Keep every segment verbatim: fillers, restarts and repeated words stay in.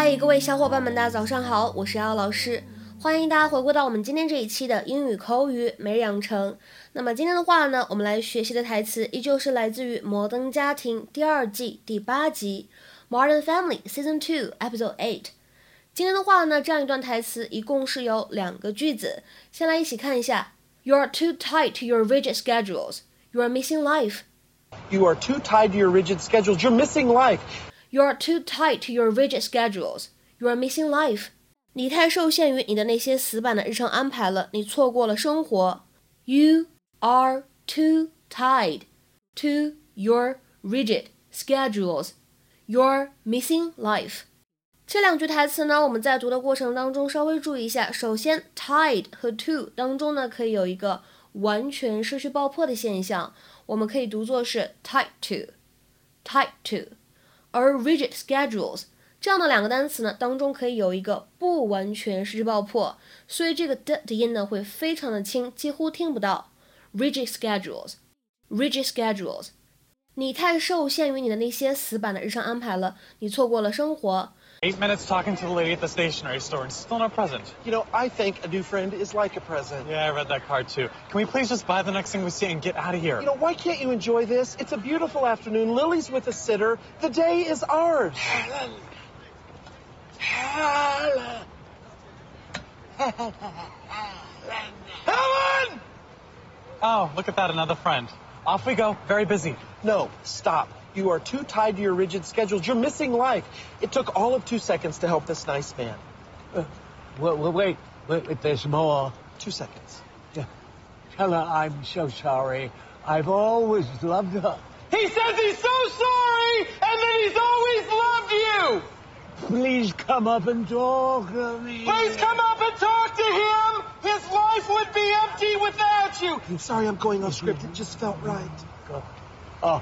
嗨，各位小伙伴们，大家早上好，我是瑶老师，欢迎大家回归到我们今天这一期的英语口语每日养成。那么今天的话呢，我们来学习的台词依旧是来自于《摩登家庭》第二季第八集《Modern Family Season two Episode eight》。今天的话呢，这样一段台词一共是有两个句子，先来一起看一下。You're too tight to your rigid schedules. You're missing life. You are too tied to your rigid schedules. You're missing life. You're too tight to your rigid schedules. You're missing life. 你太受限于你的那些死板的日常安排了，你错过了生活。You are too tied to your rigid schedules. You're missing life. 这两句台词呢，我们在读的过程当中稍微注意一下。首先 tied 和 to 当中呢，可以有一个完全失去爆破的现象，我们可以读作是 tied to tied to。而 rigid schedules 这样的两个单词呢，当中可以有一个不完全失去爆破，所以这个的的音呢会非常的轻，几乎听不到。rigid schedules rigid schedules 你太受限于你的那些死板的日常安排了，你错过了生活。 Eight minutes talking to the lady at the stationery store and still no present. You know, I think a new friend is like a present. Yeah, I read that card too. Can we please just buy the next thing we see and get out of here? You know, why can't you enjoy this? It's a beautiful afternoon. Lily's with a sitter. The day is ours. Helen! Helen! Helen! Oh, look at that, another friend. Off we go. Very busy. No, stop. You are too tied to your rigid schedules. You're missing life. It took all of two seconds to help this nice man. Uh, wait, wait, wait, wait, there's more. Two seconds. Yeah. Helen, I'm so sorry. I've always loved her. He says he's so sorry, and that he's always loved you. Please come up and talk to me. Please come up and talk to him. His life would be empty without you. I'm sorry I'm going off script. It just felt right. Go. Oh.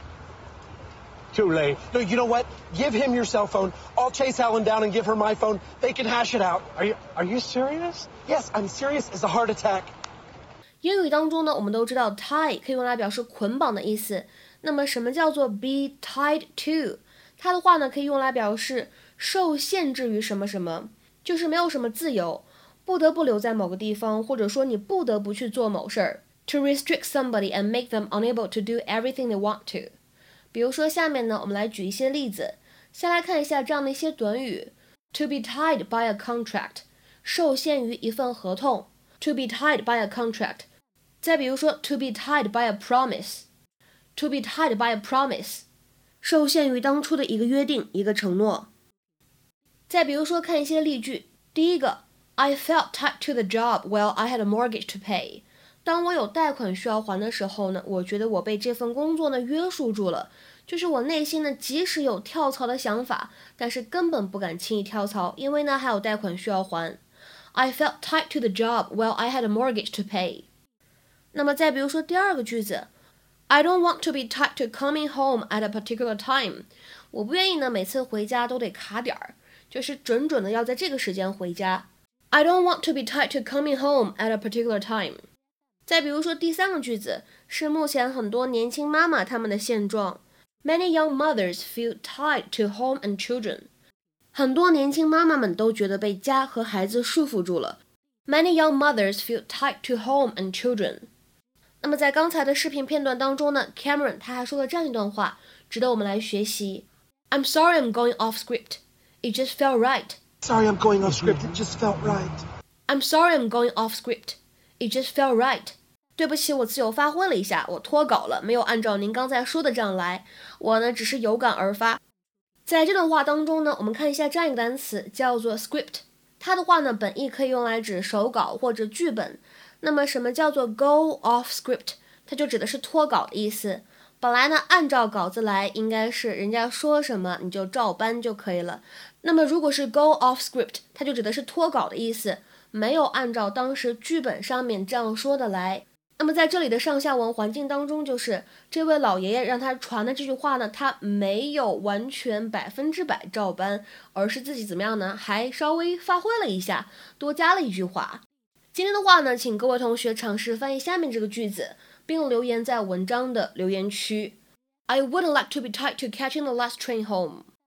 Too late. No, you know what? Give him your cell phone. I'll chase Helen down and give her my phone. They can hash it out. Are you are you serious? Yes, I'm serious as a heart attack. 英语当中呢，我们都知道 tie 可以用来表示捆绑的意思。那么什么叫做 be tied to？ 它的话呢，可以用来表示受限制于什么什么，就是没有什么自由，不得不留在某个地方，或者说你不得不去做某事儿。To restrict somebody and make them unable to do everything they want to。比如说下面呢，我们来举一些例子，先来看一下这样的一些短语。To be tied by a contract， 受限于一份合同。To be tied by a contract。再比如说 to be tied by a promise， To be tied by a promise， 受限于当初的一个约定，一个承诺。再比如说看一些例句，第一个 I felt tied to the job while I had a mortgage to pay。当我有贷款需要还的时候呢，我觉得我被这份工作呢约束住了，就是我内心呢即使有跳槽的想法，但是根本不敢轻易跳槽，因为呢还有贷款需要还。I felt tied to the job while I had a mortgage to pay。那么再比如说第二个句子 I don't want to be tied to coming home at a particular time。我不愿意呢每次回家都得卡点儿，就是准准的要在这个时间回家。I don't want to be tied to coming home at a particular time。再比如说第三个句子是目前很多年轻妈妈她们的现状 Many young mothers feel tied to home and children。 很多年轻妈妈们都觉得被家和孩子束缚住了。 Many young mothers feel tied to home and children。 那么在刚才的视频片段当中呢 Cameron 他还说了这样一段话，值得我们来学习。 I'm sorry I'm going off script. It just felt right. Sorry I'm going off script. It just felt right. I'm sorry I'm going off script. It just felt right。 对不起，我自由发挥了一下，我脱稿了，没有按照您刚才说的这样来，我呢只是有感而发。在这段话当中呢，我们看一下这样一个单词叫做 script， 它的话呢本意可以用来指手稿或者剧本。那么什么叫做 go off script？ 它就指的是脱稿的意思。本来呢按照稿子来，应该是人家说什么你就照搬就可以了。那么如果是 go off script， 它就指的是脱稿的意思，没有按照当时剧本上面这样说的来。那么在这里的上下文环境当中，就是这位老爷爷让他传的这句话呢，他没有完全百分之百照搬，而是自己怎么样呢？还稍微发挥了一下，多加了一句话。今天的话呢，请各位同学尝试翻译下面这个句子，并留言在文章的留言区。I wouldn't like to be tied to catching the last train home.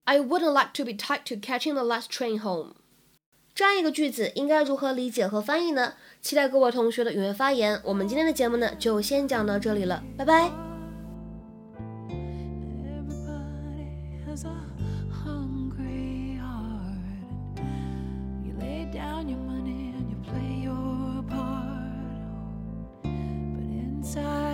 I wouldn't like to be tied to catching the last train home. 这样一个句子应该如何理解和翻译呢？期待各位同学的踊跃发言。我们今天的节目呢，就先讲到这里了，拜拜。 Inside